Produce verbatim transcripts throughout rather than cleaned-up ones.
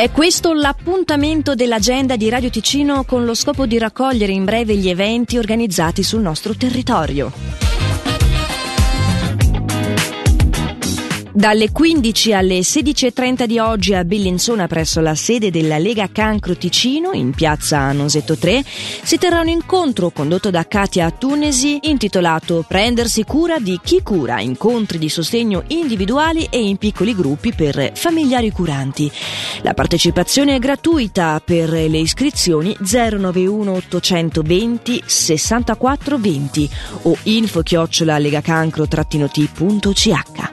È questo l'appuntamento dell'agenda di Radio Ticino con lo scopo di raccogliere in breve gli eventi organizzati sul nostro territorio. Dalle quindici alle sedici e trenta di oggi a Bellinzona, presso la sede della Lega Cancro Ticino, in piazza Nosetto tre, si terrà un incontro condotto da Katia Tunesi intitolato Prendersi cura di chi cura, incontri di sostegno individuali e in piccoli gruppi per familiari curanti. La partecipazione è gratuita. Per le iscrizioni zero nove uno ottocentoventi sessantaquattro venti o info chiocciola legacancro trattino t punto c h.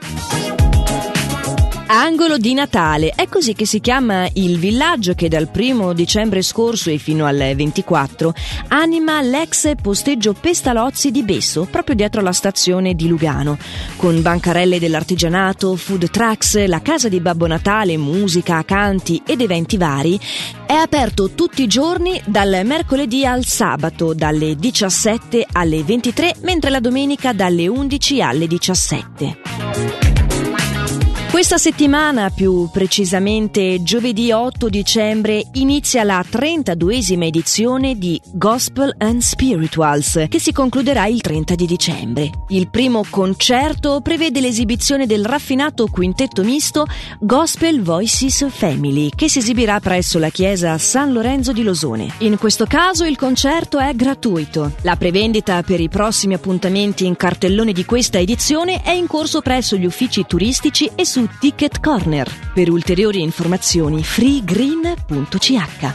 Angolo di Natale, è così che si chiama il villaggio che dal primo dicembre scorso e fino al ventiquattro anima l'ex posteggio Pestalozzi di Besso, proprio dietro la stazione di Lugano, con bancarelle dell'artigianato, food trucks, la casa di Babbo Natale, musica, canti ed eventi vari. È aperto tutti i giorni dal mercoledì al sabato dalle diciassette alle ventitré, mentre la domenica dalle undici alle diciassette. Questa settimana, più precisamente giovedì otto dicembre, inizia la trentaduesima edizione di Gospel and Spirituals, che si concluderà il trenta di dicembre. Il primo concerto prevede l'esibizione del raffinato quintetto misto Gospel Voices Family, che si esibirà presso la chiesa San Lorenzo di Losone. In questo caso il concerto è gratuito. La prevendita per i prossimi appuntamenti in cartellone di questa edizione è in corso presso gli uffici turistici e su Ticket Corner. Per ulteriori informazioni freegreen punto c h.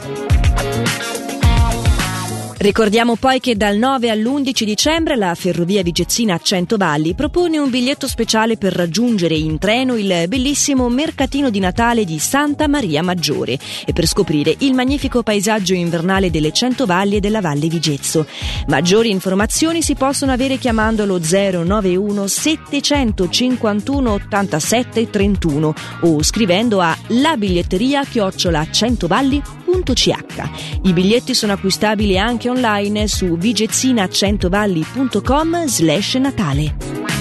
Ricordiamo poi che dal nove all'undici dicembre la Ferrovia Vigezzina Centovalli propone un biglietto speciale per raggiungere in treno il bellissimo mercatino di Natale di Santa Maria Maggiore e per scoprire il magnifico paesaggio invernale delle Centovalli e della Valle Vigezzo. Maggiori informazioni si possono avere chiamando lo zero nove uno settecentocinquantuno ottantasette trentuno o scrivendo a labiglietteria chiocciola centovalli punto c h. I biglietti sono acquistabili anche online su vigezzinaccentovalli punto com slash Natale.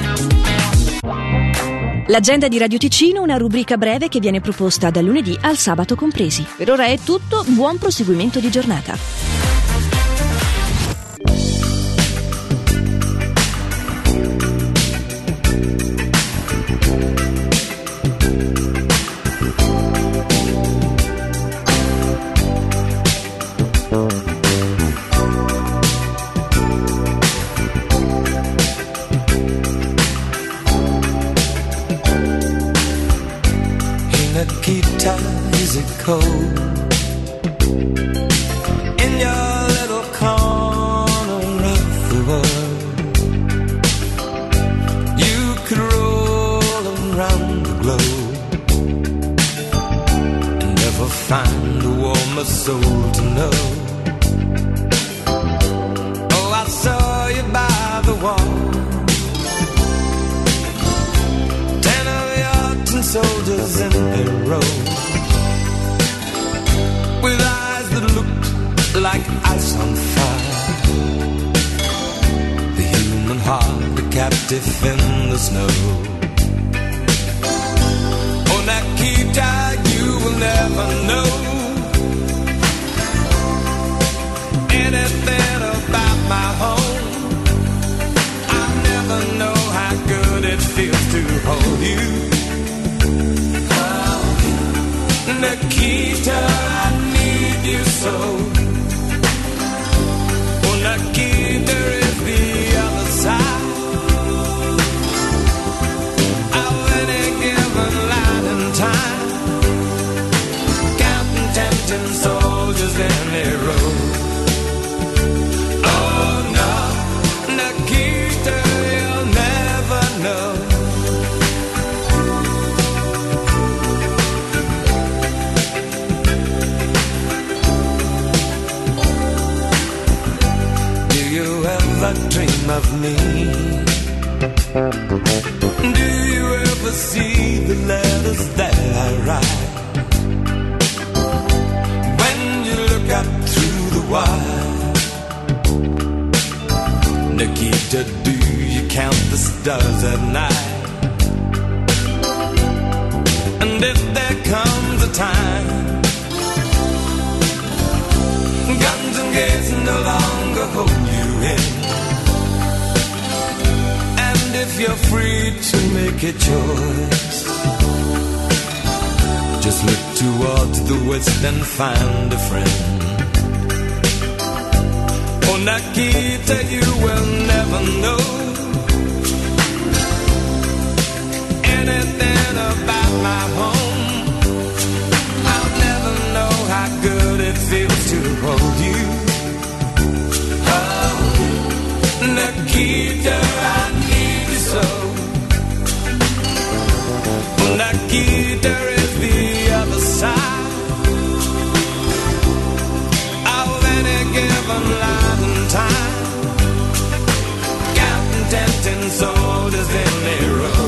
L'agenda di Radio Ticino, una rubrica breve che viene proposta dal lunedì al sabato compresi. Per ora è tutto, buon proseguimento di giornata. Nikita, is it cold in your little corner of the world? You could roll around the globe and never find a warmer soul to know. Oh, I saw you by the wall, ten of your tin soldiers in a row, with eyes that looked like ice on fire, the human heart a captive in the snow. Oh, Nikita, you will never know anything about my home. I never know how good it feels to hold you. Nikita, I need you so. Oh, Nikita is the other side of any given line in time, counting tempting soldiers in a row. Oh no, Nikita, you'll never know. Dream of me? Do you ever see the letters that I write? When you look up through the wire, Nikita, do you count the stars at night? And if there comes a time hold you in. And if you're free to make a choice, just look towards the west and find a friend. Oh, Nikita, you will never know anything about my home. I'll never know how good it feels to hold you. Oh, Nikita, I need you so. Oh, Nikita is the other side of any given line and time. Counting tempting soldiers in a row.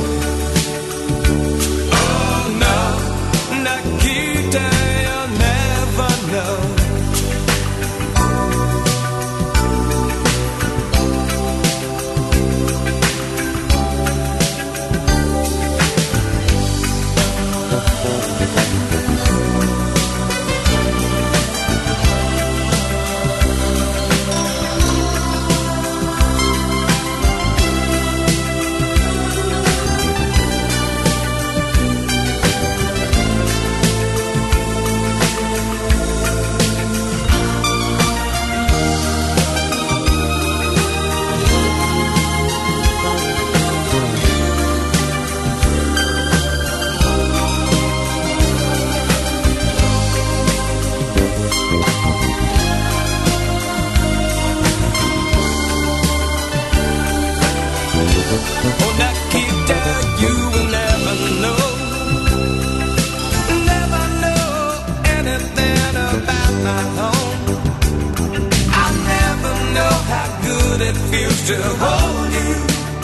It feels to hold you.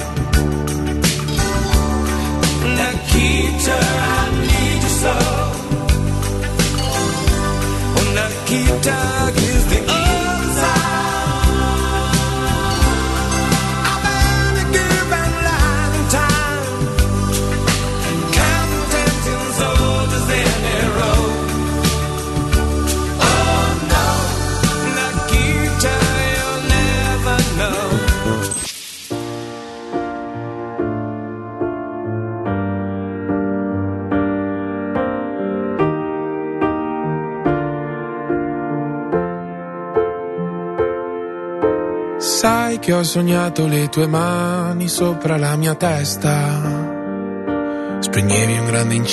Nikita, I need you so. Oh, Nikita is the other side of any given line and time. Counting soldiers in a row. Oh no, Nikita, you'll never know. Sai che ho sognato le tue mani sopra la mia testa, spegnevi un grande incendio